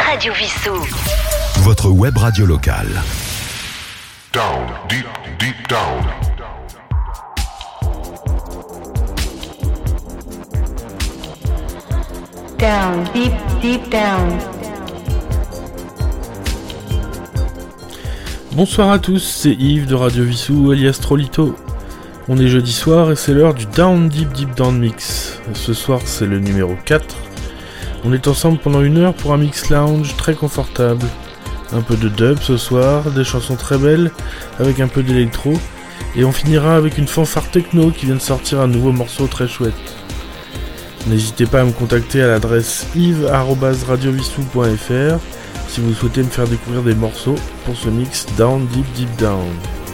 Radio Vissou. Votre web radio locale. Down, deep, deep down. Down, deep, deep down. Bonsoir à tous, c'est Yves de Radio Vissou alias Trollito. On est jeudi soir et c'est l'heure du Down Deep Deep Down Mix. Ce soir c'est le numéro 4. On est ensemble pendant 1 heure pour un mix lounge très confortable. Un peu de dub ce soir, des chansons très belles avec un peu d'électro. Et on finira avec une fanfare techno qui vient de sortir un nouveau morceau très chouette. N'hésitez pas à me contacter à l'adresse yves@radiovissou.fr si vous souhaitez me faire découvrir des morceaux pour ce mix Down Deep Deep Down.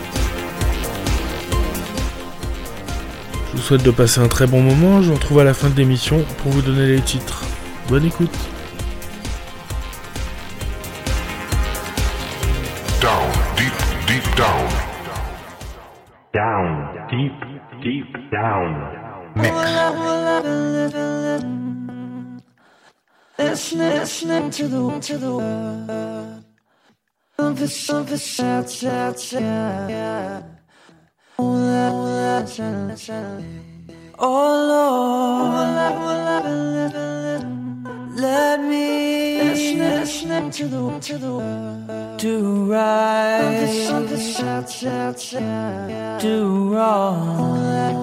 Je vous souhaite de passer un très bon moment, je vous retrouve à la fin de l'émission pour vous donner les titres. Bonne écoute. Down, deep, deep down. Down, deep, deep down. Mix. Listening to the word of the sad. Oh Lord, let me listening to the word. Do right, do wrong.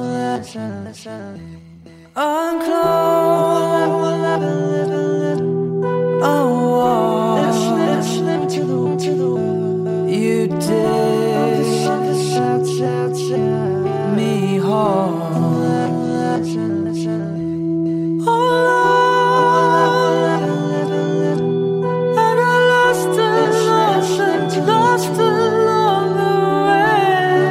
Unclose. Oh, listening to the word. You did me harm. Oh Lord, and I lost along the way.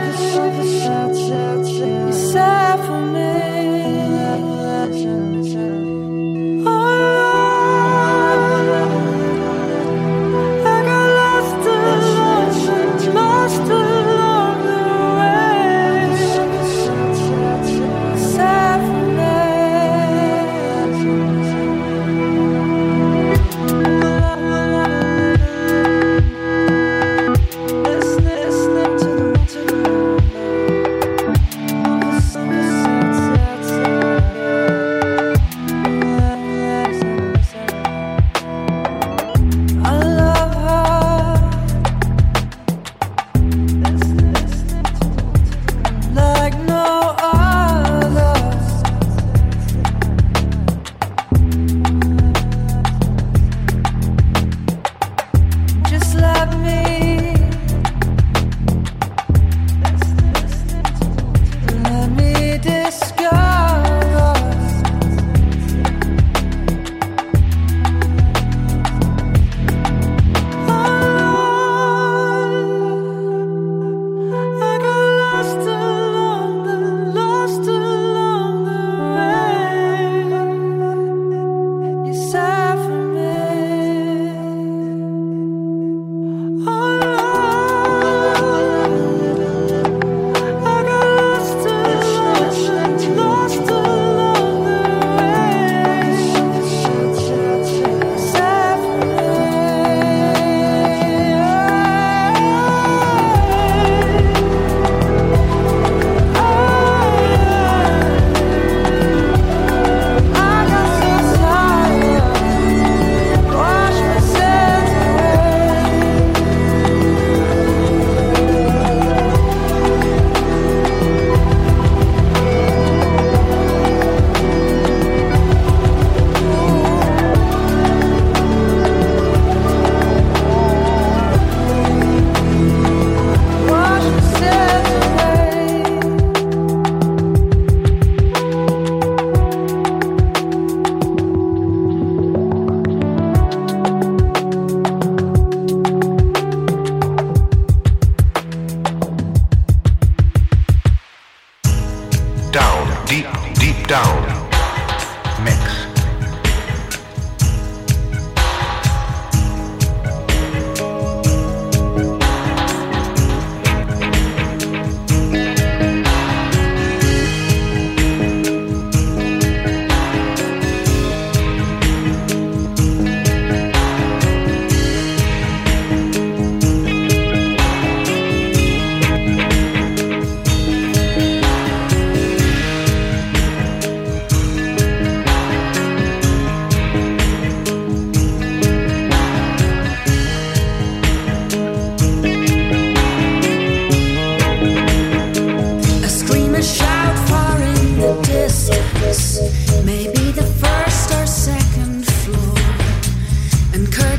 You sad for me. Oh Lord.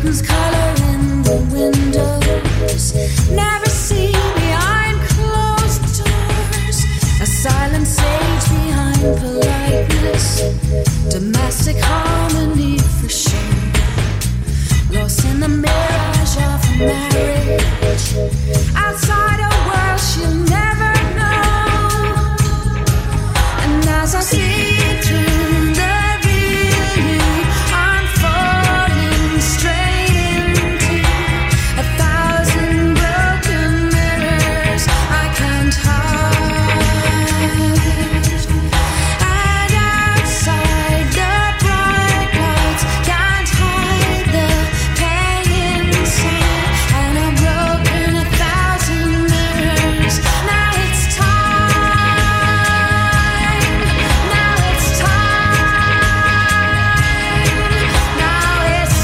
whose color in the windows never see behind closed doors. A silent sage behind politeness, domestic harmony for sure. Lost in the mirage of a marriage, outside a world she'll never know. And as I see through the real you, I'm falling straight into 1,000 broken mirrors I can't hide. And outside the bright lights can't hide the pain inside. And I'm broken 1,000 mirrors. Now it's time. Now it's time. Now it's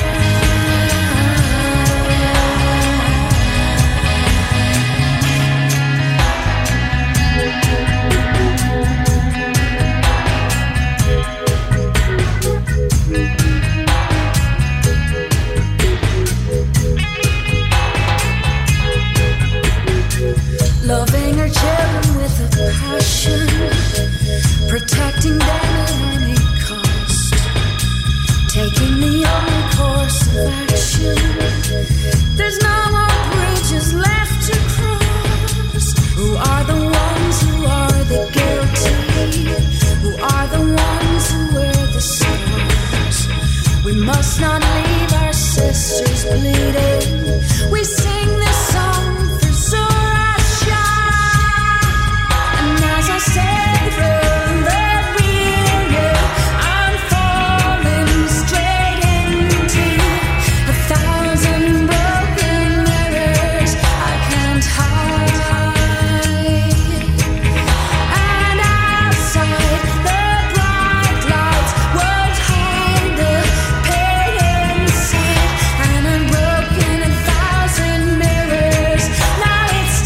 loving her children with a passion, protecting them at any cost, taking the only course of action. There's no more bridges left to cross. Who are the ones who are the guilty? Who are the ones who wear the scars? We must not leave our sisters bleeding. We sing this song for Zora. And as I say through the real you, I'm falling straight into 1,000 broken mirrors I can't hide. And outside the bright lights won't hide the pain inside. And I'm broken 1,000 mirrors. Now it's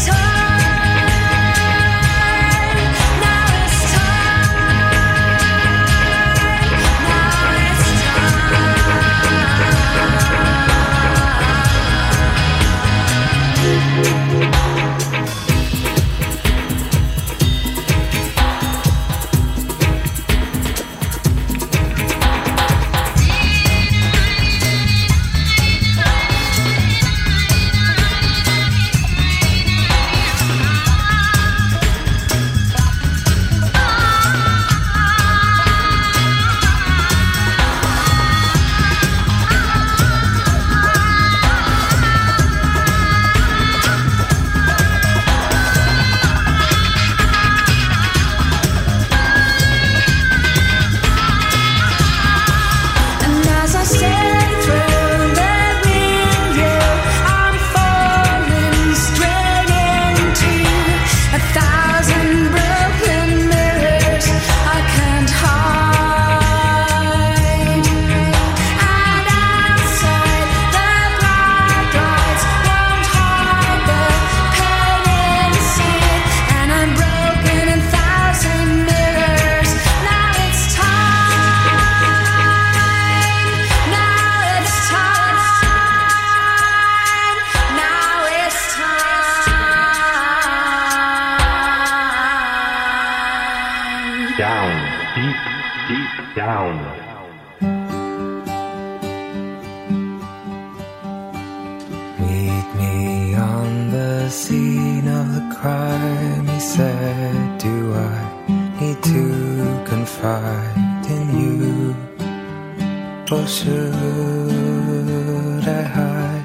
time. Now it's time. Now it's And as I say through the real you, I'm falling straight into 1,000 broken mirrors I can't hide. And outside the bright lights won't hide the pain inside. And I'm broken 1,000 mirrors. Now it's time. Now it's time. Now it's time. Down, deep, deep down. Meet me on the scene of the crime, he said. Do I need to confide in you? Or should I hide?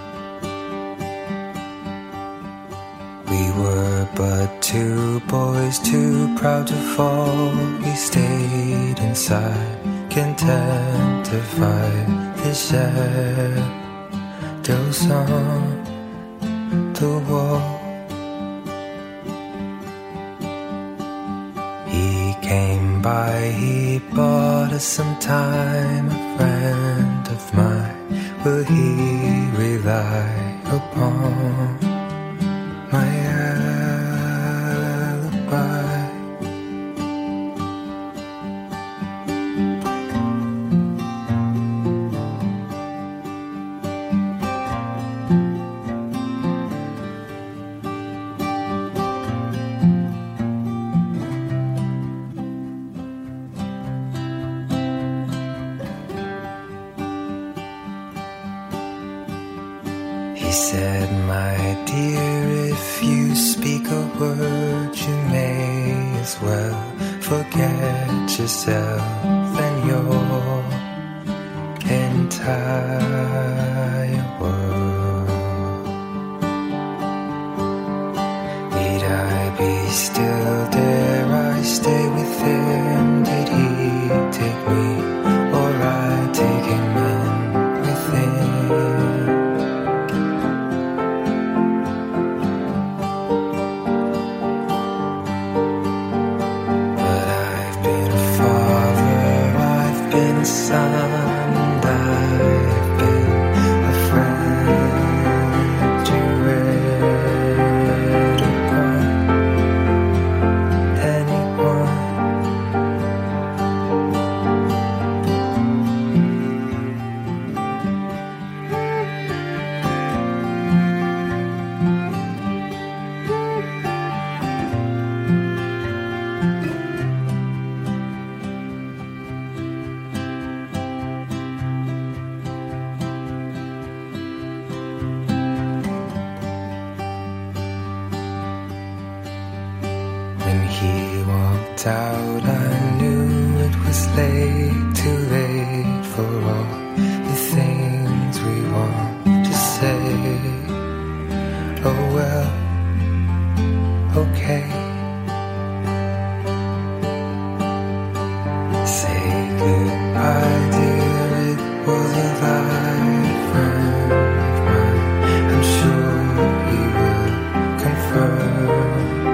We were but two boys, too proud to fall. We stayed inside, content to fight the shadows on the wall. He came by, he bought us some time. A friend of mine, will he rely upon my alibi? He said, my dear, if you speak a word, you may as well forget yourself and your entire world. Need I be still? Dare I stay with him? Did he take me, or I take him in with him? But I've been a father, I've been a son, and I've been a friend to anyone. When he walked out, I knew it was late, too late for all the things we want to say. Oh well, okay. Say goodbye, dear, it was a light friend of mine. I'm sure he will confirm.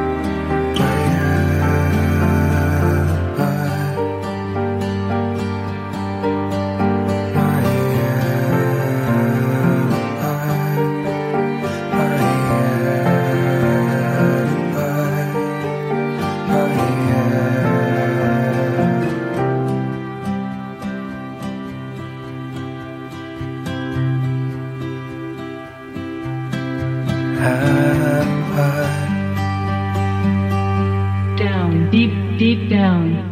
Down, deep, deep down.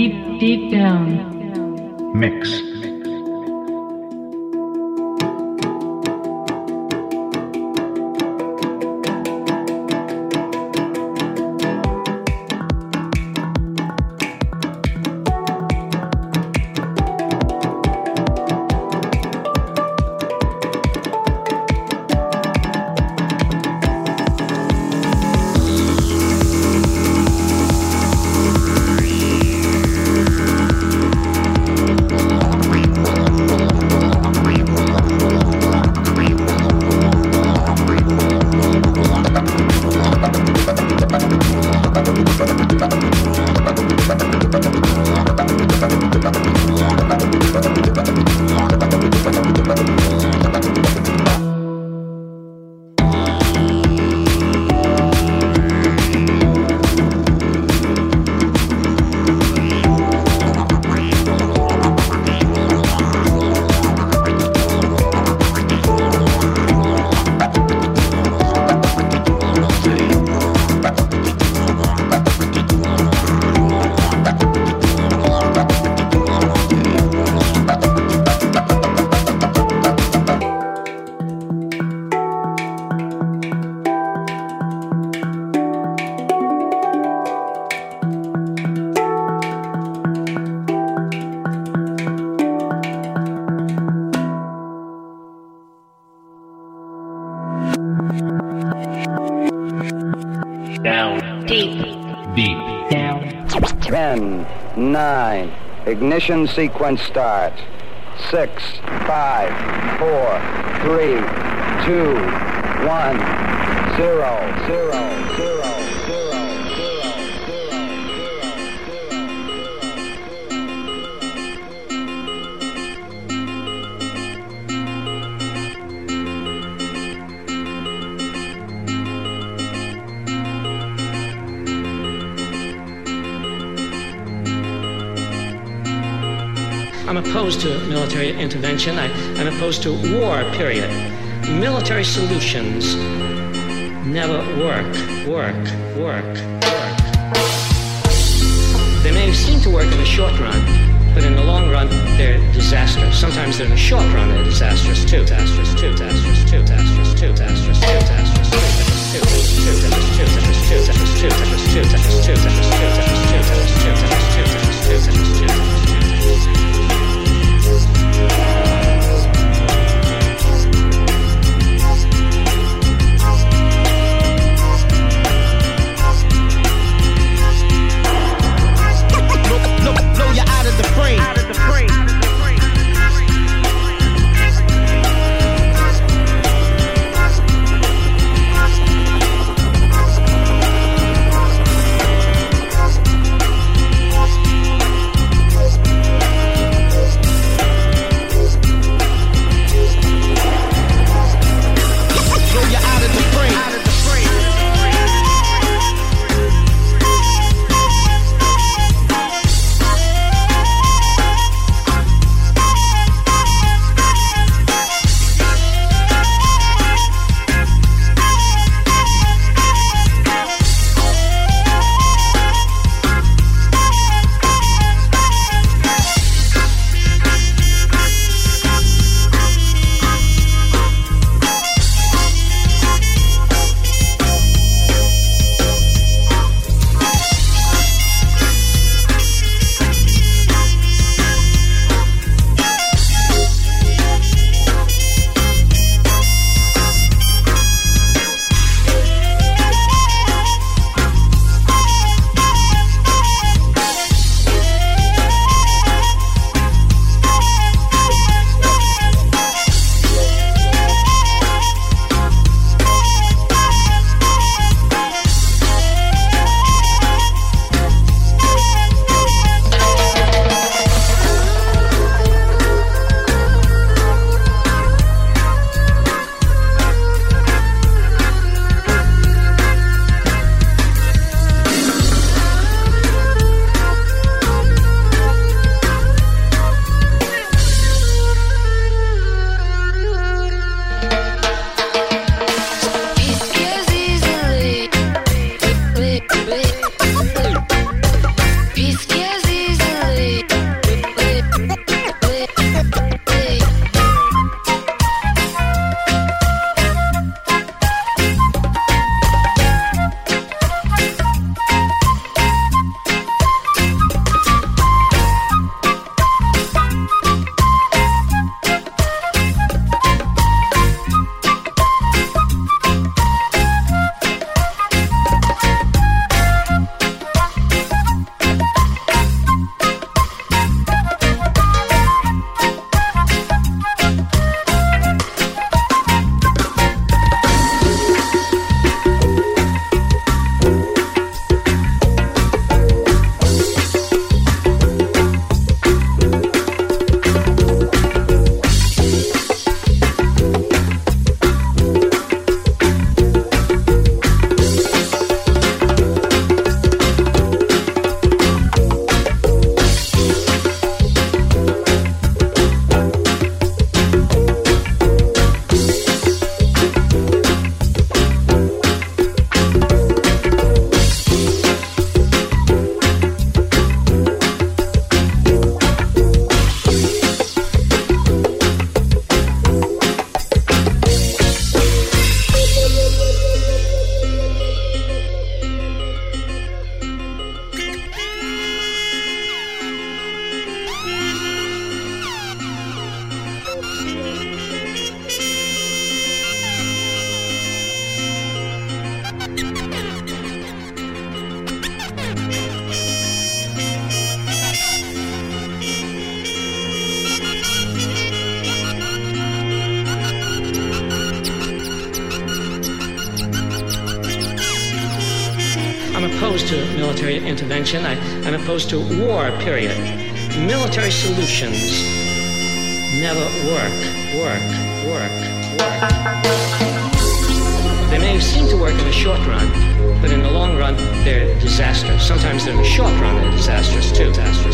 deep down. Mix. Down. Deep. Deep. Down. 10, 9, ignition sequence start. 6, 5, 4, 3, 2, 1, 0, 0, 0. I'm opposed to military intervention. I'm opposed to war, period. Military solutions never work. They may seem to work in the short run, but in the long run, they're disastrous. Sometimes in the short run, they're disastrous too. Blow you out of the frame. opposed to military intervention. I'm opposed to war, period. Military solutions never work. They may seem to work in the short run, but in the long run, they're disastrous. Sometimes in the short run, they're disastrous too.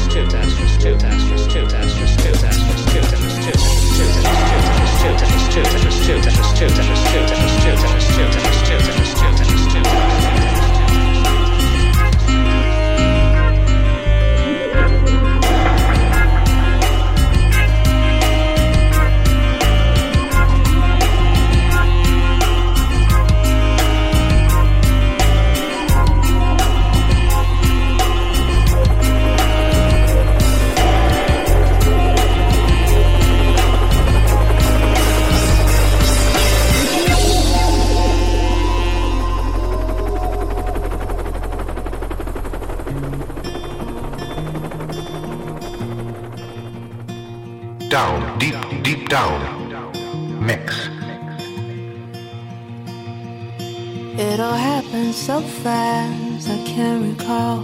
Down, deep down. Mix. It all happened so fast, I can't recall.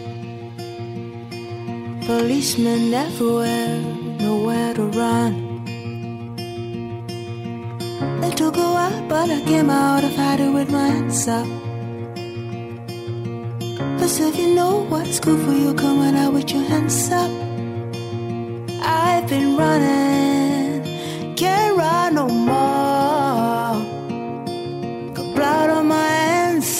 Policemen everywhere, nowhere to run. They took a while, but I came out of hiding with my hands up. 'Cause if you know what's good for you, come on out with your hands up. I've been running, can't run no more. Got blood on my hands,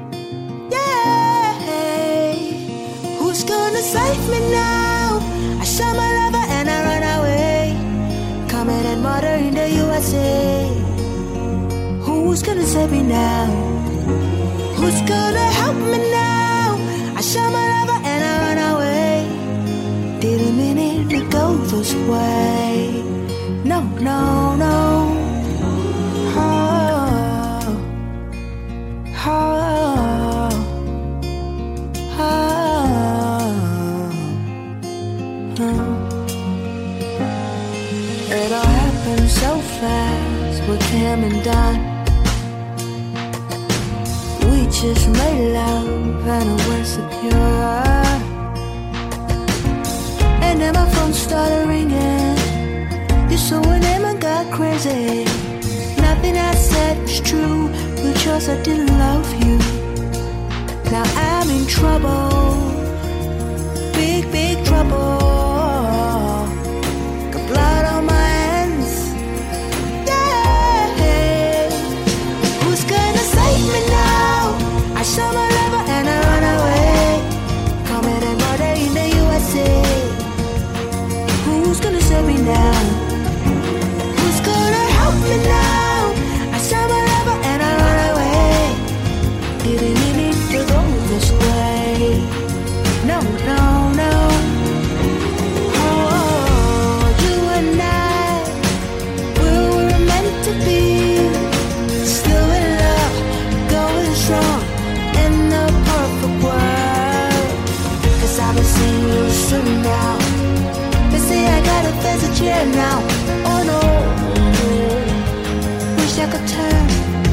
yeah. Who's gonna save me now? I shot my lover and I run away. Coming and murder in the USA. Who's gonna save me now? Who's gonna help me now? I shot my lover and I run away. Didn't mean it to go this way. No, no, no. Oh, oh, oh, oh. It all happened so fast, what came and done. We just made love and it was secure. And then my phone started ringing. You saw her name and got crazy. Nothing I said was true, because I didn't love you. Now I'm in trouble, big, big trouble. Got blood on my hands, yeah. Who's gonna save me now? I saw my lover and I run away. Coming and murder in the USA. Who's gonna save me now? Who's gonna help me now? I saw my lover and I run away. Didn't need to go this way. No, no, no. Oh, you and I, we were meant to be. Still in love, going strong in the perfect world. 'Cause I've been seeing you soon now. See, I gotta face a chair now. Oh no, wish I could turn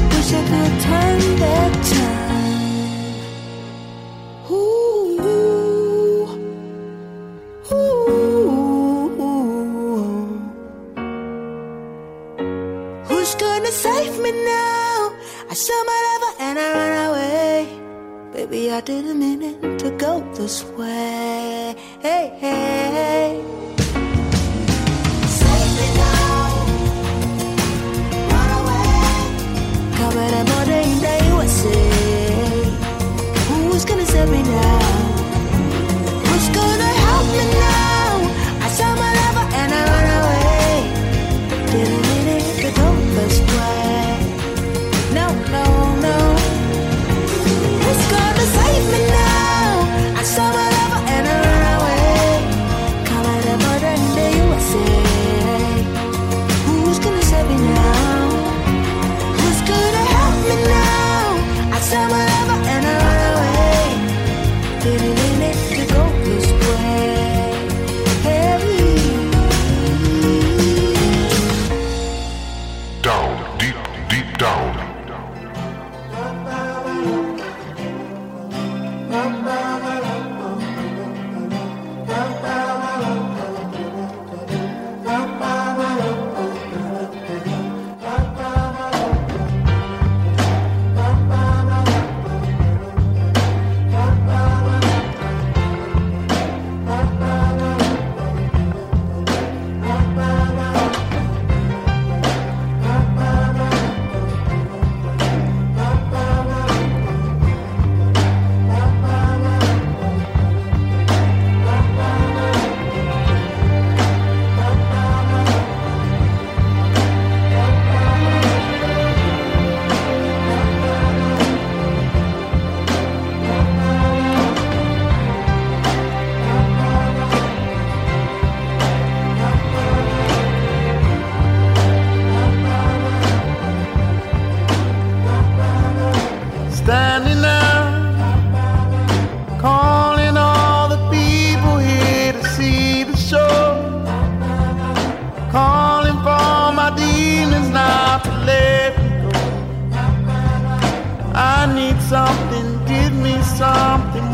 back time. Ooh, ooh, ooh. Who's gonna save me now? I saw my lover and I ran away. Baby, I didn't mean it to go this way. Hey, hey. Coming and murder in the USA. Who's gonna save me now? Who's gonna help me now? I saw my lover and I run away. Didn't mean it to go this way. No, no, no. Who's gonna save me now? I saw my lover and I run away. Coming and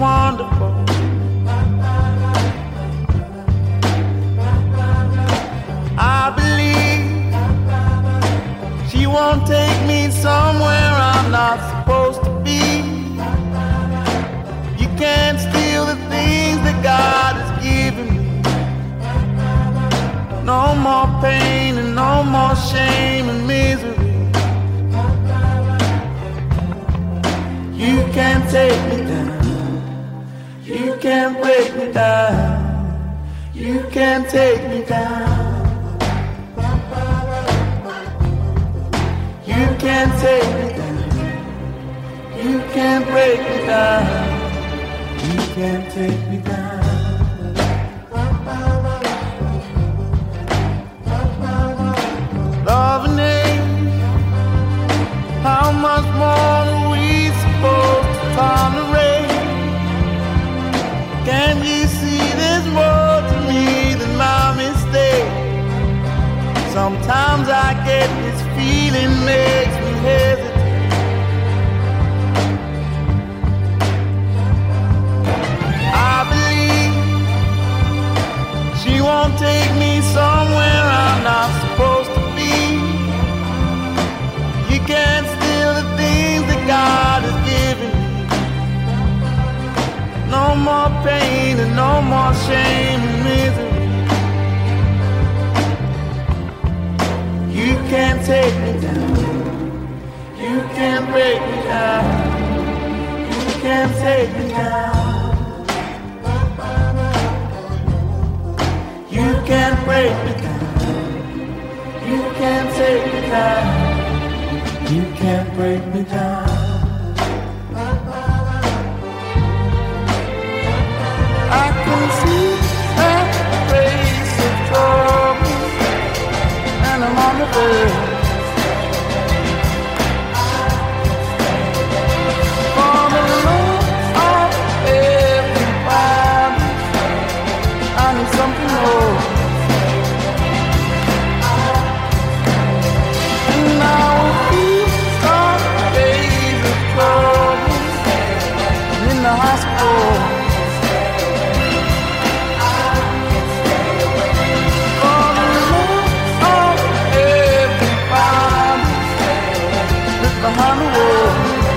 wonderful. I believe she won't take me somewhere I'm not supposed to be. You can't steal the things that God has given me. No more pain and no more shame and misery. You can't take me down. You can't break me down. You can't take me down. You can't take me down. You can't break me down. You can't take me down. Love and hate, how much more are we supposed to tolerate? Can't you see there's more to me than my mistake? Sometimes I get this feeling makes me hesitate. I believe she won't take me somewhere I'm not supposed to be. You can't steal the things that God has given me. No more pain and no more shame and misery. You can't take me down. You can't break me down. You can't take me down. You can't break me down. You can't take me down. You can't break me down. I can see that face of trouble, and I'm on the verge. For the love of everybody, I need something more. And now these are days of trouble in the hospital. Behind the wall.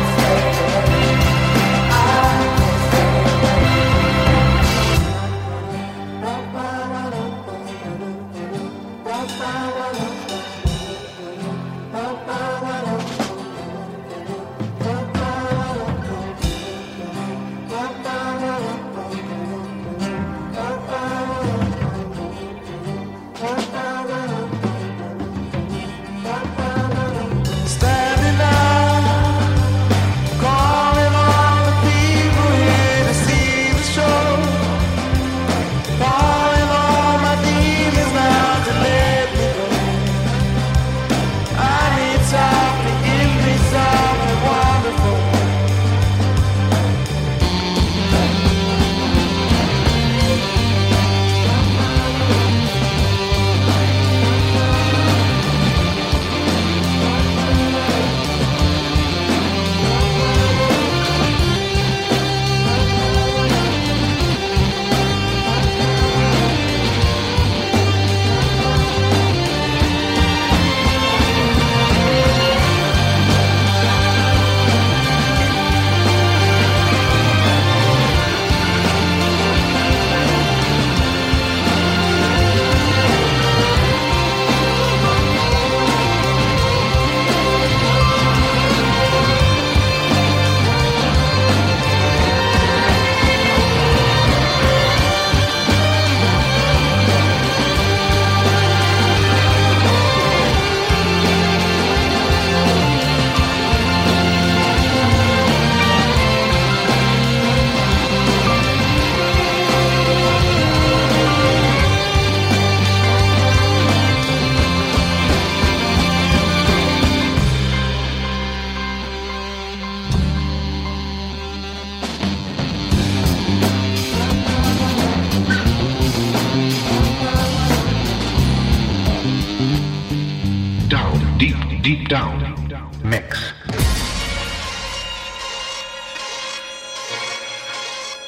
Deep Down Mix.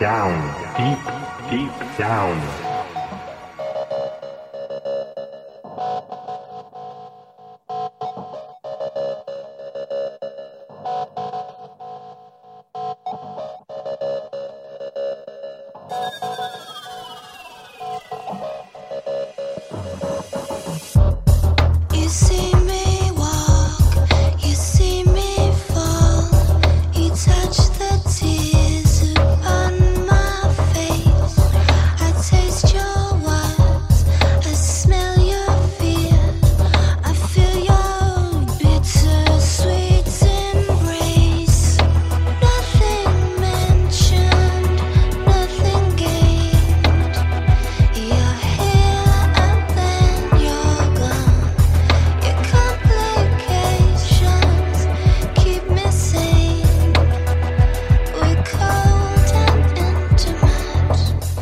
Down, deep, deep down. You see me walk, you see me fall, you touch the tears upon my face. I taste your words, I smell your fears, I feel your bittersweet embrace. Nothing mentioned, nothing gained. You're here and then you're gone. Your complications keep me sane. We're cold and intimate.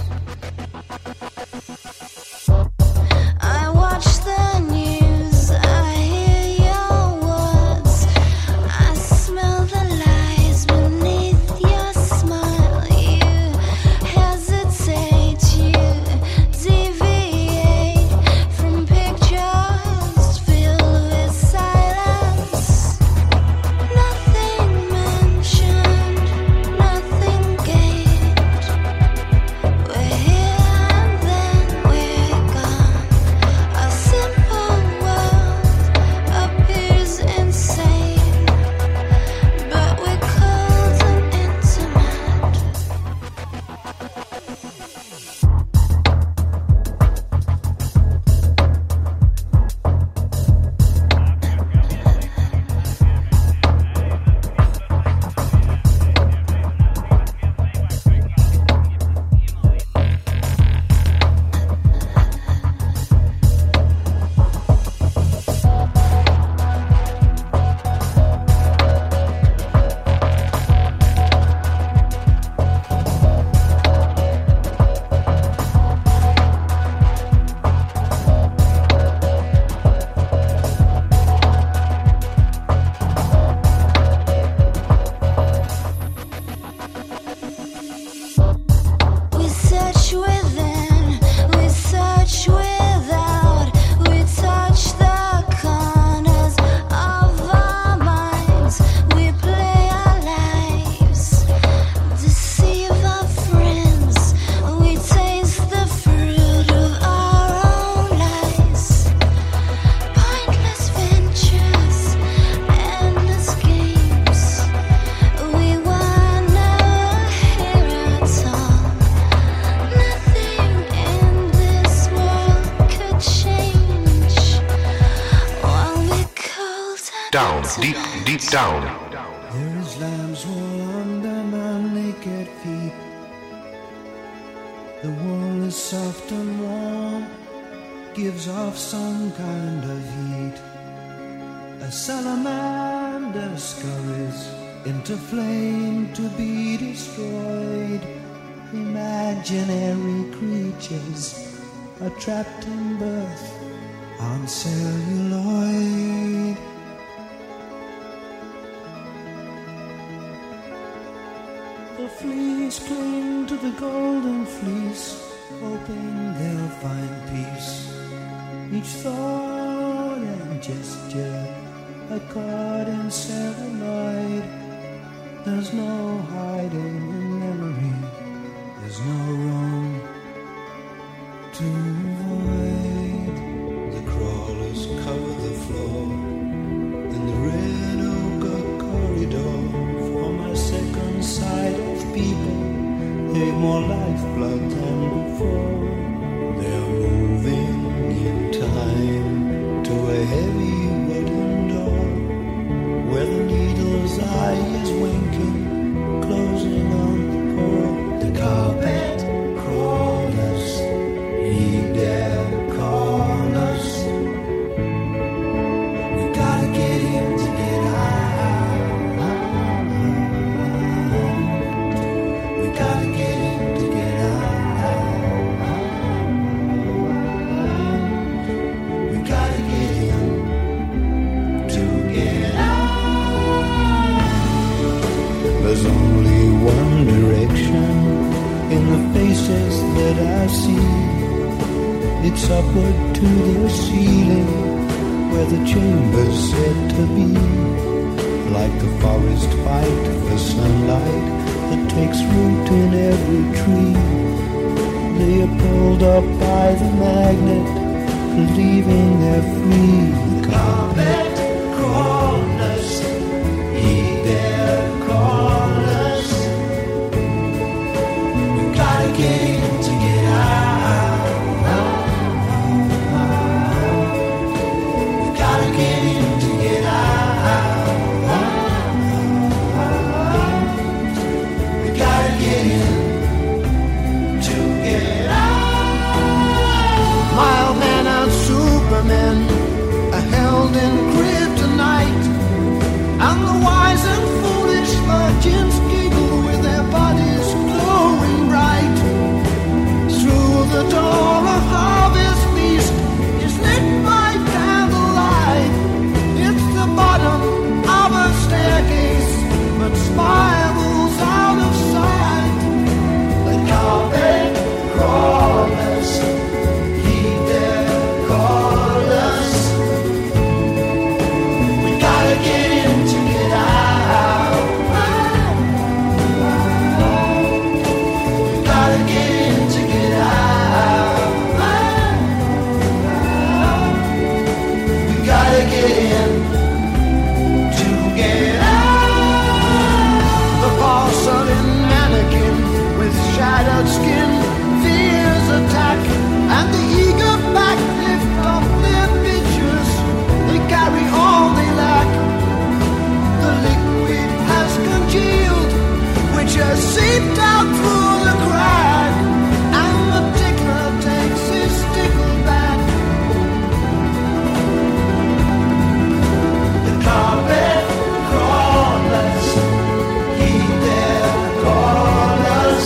I watch the news, I hear your words, I smell the lies beneath your smile. You hesitate, you deviate from pictures filled with silence. Nothing mentioned, nothing gained. We're here and then we're gone. Our simple world appears insane, but we're cold and intimate. We search within, we search without, we touch the corners of our minds, we play our lives, deceive our friends, we taste the fruit of our own lies. Pointless ventures, endless games, we were never here at all. Nothing in this world could change while we're cold and Down, deep, deep down. There is lamb's wool under my naked feet. The wool is soft and warm, gives off some kind of heat. A salamander scurries into flame to be destroyed. Imaginary creatures are trapped in birth on celluloid. The fleas cling to the golden fleece, hoping they'll find peace. Each thought and gesture a caught in celluloid. There's no hiding in memory, there's no room to avoid. The crawlers cover the floor in the red ochre corridor. For my second sight of people, they've more lifeblood than before. They're moving in time to a heavy wooden door, where the needle's eye is winking, closing on the core. The carpet crawlers heed their corners. We gotta get in to get out. We gotta get in to get out. We gotta get in to get out. There's only one direction in the faces that I see. It's upward to the ceiling where the chamber's said to be. Like the forest fight for sunlight that takes root in every tree. They are pulled up by the magnet, believing they're free. Carpet crawlers, heed their callers. We gotta get in to get out. We gotta get in to get out. We gotta get in to get out. Mild man and Superman are held in kryptonite, and the wise and foolish virgins giggle with their bodies glowing bright. Through the door a harvest feast is lit by candlelight. It's the bottom of a staircase, but spirals out of sight. The carpet crawlers heed their callers. We gotta get in to get out. We gotta get in to get out. We gotta get in to get out. The porcelain mannequin with shattered skin fears attack, and the eager back lift up their pictures. They carry all they lack. The liquid has congealed, which has seeped out through the crack, and the tickler takes his tickle back. The carpet crawlers heed their callers.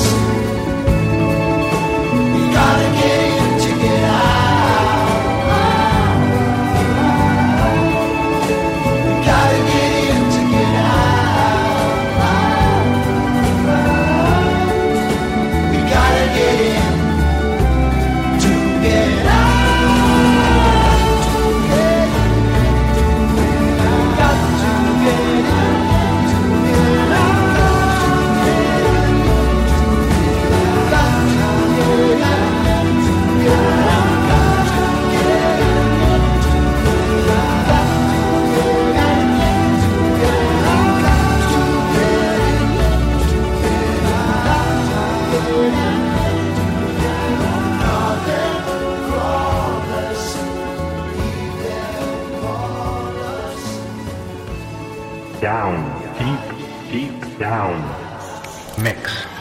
We gotta get in to get out. We gotta get in to get out. We gotta get in to get out. Got to get in to get Down, deep, deep down. Mix.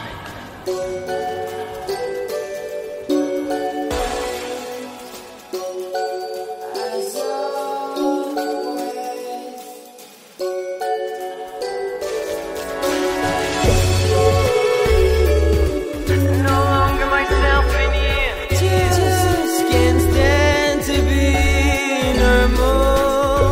No longer myself in here. Just can't stand to be normal.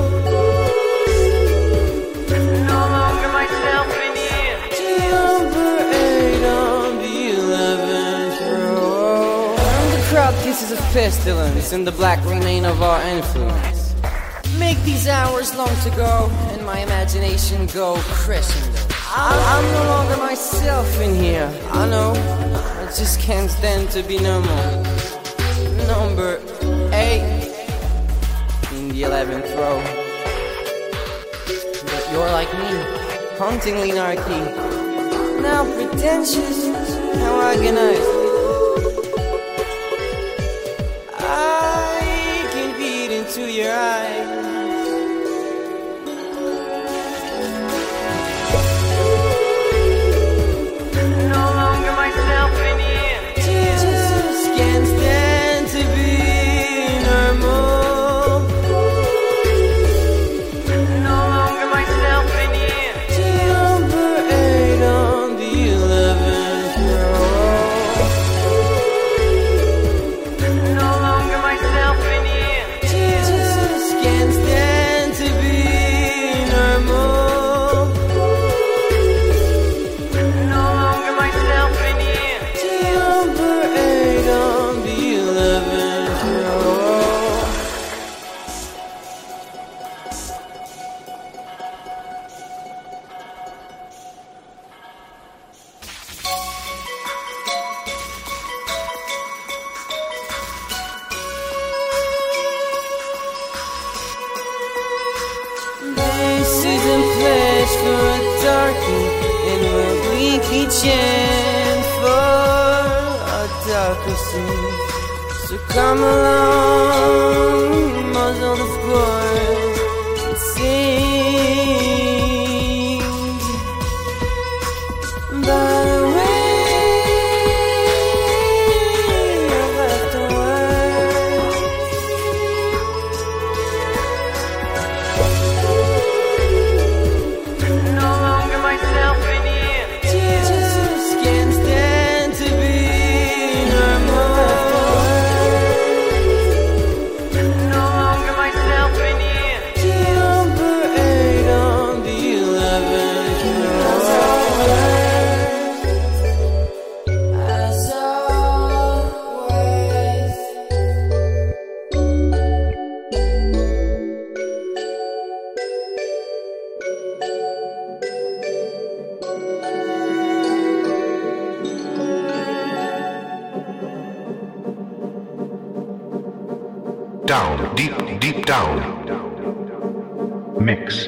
No longer myself in here. Number 8 on the 11th row. And the crowd kisses a pestilence, and the black remain of our influence. Make these hours long to go, and my imagination go crescendo. I'm no longer myself in here. I know, I just can't stand to be normal. Number 8 in the 11th row. But you're like me, hauntingly narky. Now pretentious, now organized. I can beat into your eyes. No longer myself in here. Just can't stand to be normal. No longer myself in here. Number 8 on the 11th row. reaching for a darker sea. So come along, muzzle the force, and sing. By the way I've left a word, no longer myself in here. Just can't stand to be no more. No longer myself in here. Number 8 on the 11th floor. As always. Down, deep, deep down. Mix.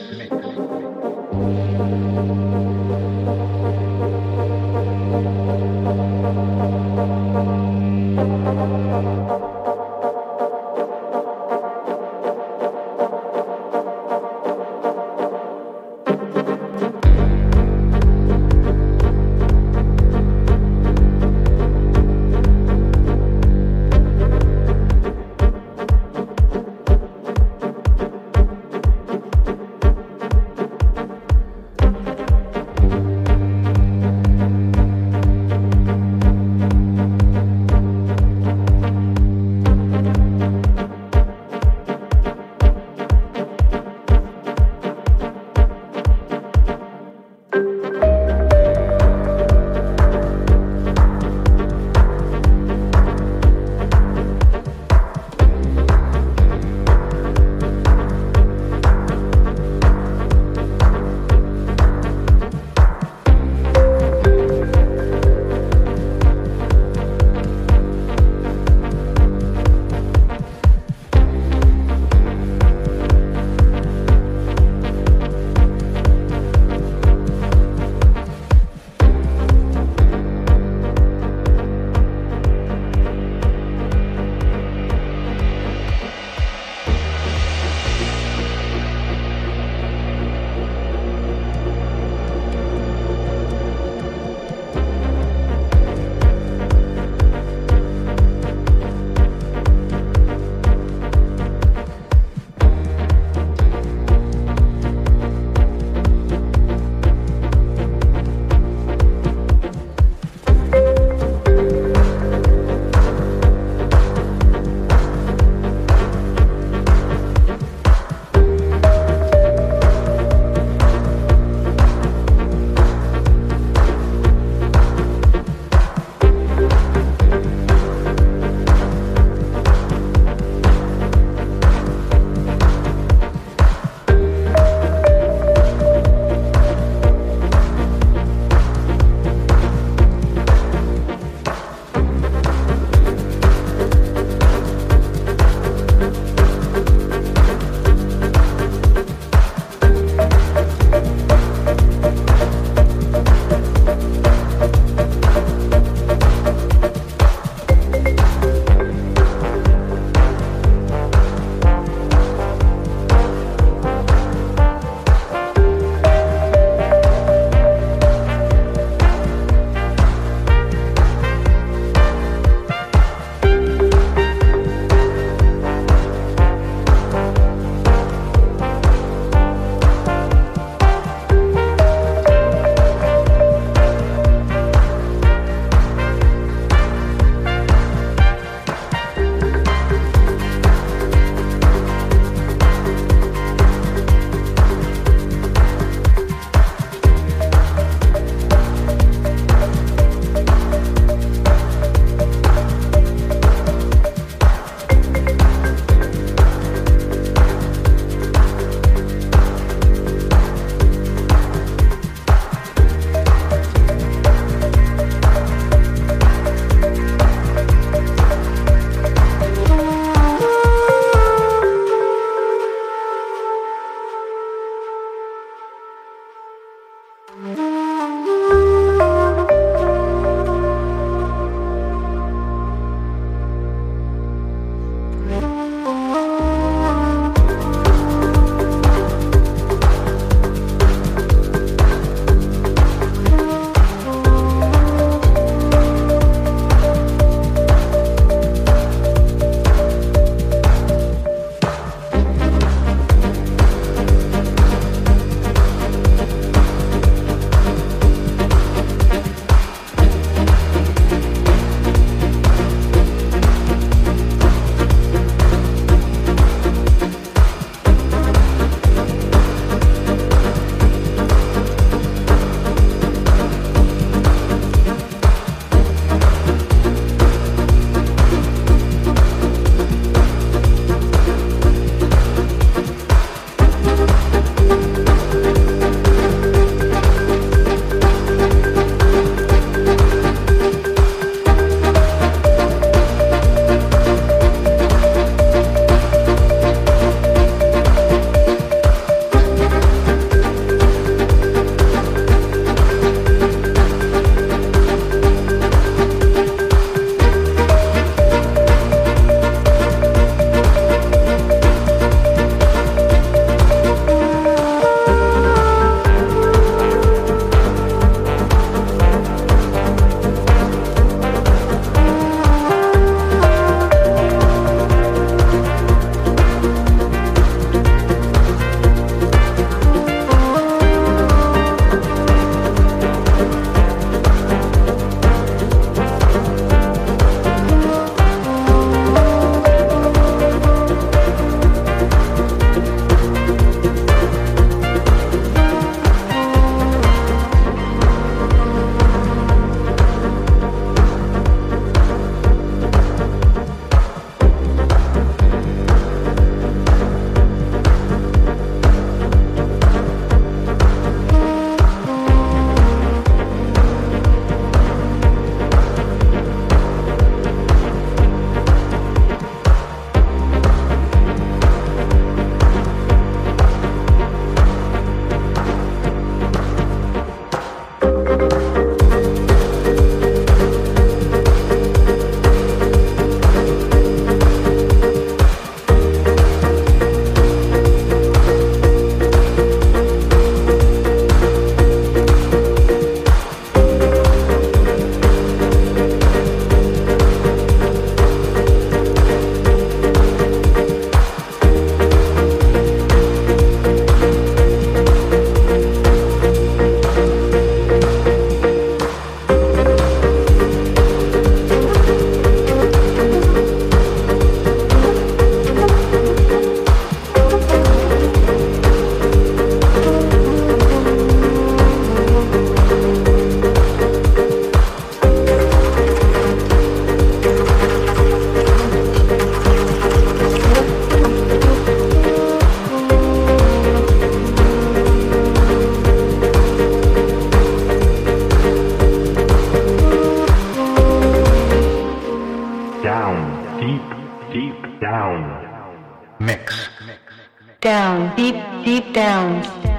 down. Mix. Down, deep, deep down.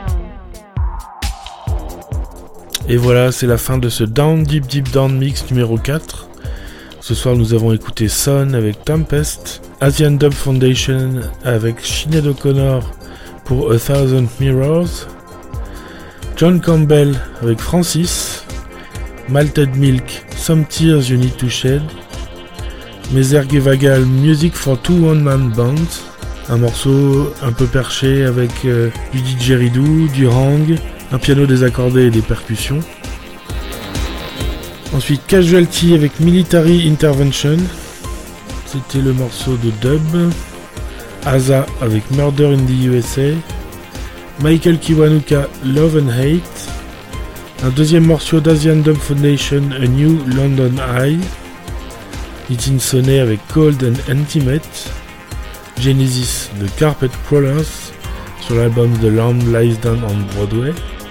Et voilà, c'est la fin de ce Down Deep Deep Down Mix numéro 4. Ce soir, nous avons écouté Son avec Tempest, Asian Dub Foundation avec Sinead O'Connor pour A Thousand Mirrors, John Campbell avec Francis, Malted Milk, Some Tears You Need to Shed, Mesergevagal Music for Two One-Man Bands, un morceau un peu perché avec du didgeridoo, du hang, un piano désaccordé et des percussions. Ensuite Casualty avec Military Intervention, c'était le morceau de dub. Asa avec Murder in the USA, Michael Kiwanuka Love and Hate, un deuxième morceau d'Asian Dub Foundation A New London Eye, Nitin Sonnet avec Cold and Intimate, Genesis de Carpet Crawlers sur l'album The Lamb Lies Down on Broadway,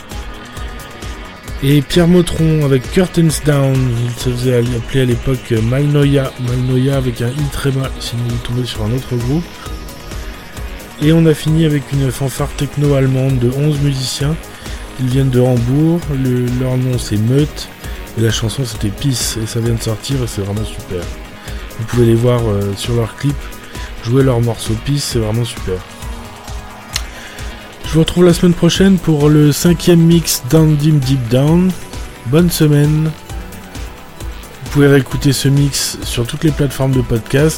et Pierre Motron avec Curtains Down, il se faisait appeler à l'époque Malnoia avec un i très bas, sinon vous tombez sur un autre groupe. Et on a fini avec une fanfare techno-allemande de 11 musiciens. Ils viennent de Hambourg, leur nom c'est Meute, et la chanson c'était Peace, et ça vient de sortir et c'est vraiment super. Vous pouvez les voir sur leur clip, jouer leur morceau Peace, c'est vraiment super. Je vous retrouve la semaine prochaine pour le 5e mix Down Deep Deep Down. Bonne semaine. Vous pouvez réécouter ce mix sur toutes les plateformes de podcast.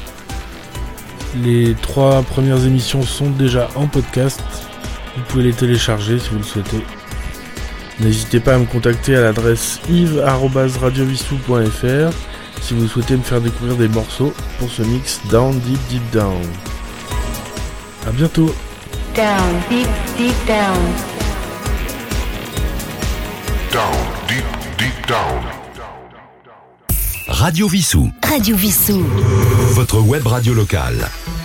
Les 3 premières émissions sont déjà en podcast. Vous pouvez les télécharger si vous le souhaitez. N'hésitez pas à me contacter à l'adresse yves@radiovissou.fr si vous souhaitez me faire découvrir des morceaux pour ce mix Down Deep Deep Down. A bientôt. Down, deep, deep down. Down, deep, deep down. Radio Vissou. Radio Vissou. Votre web radio locale.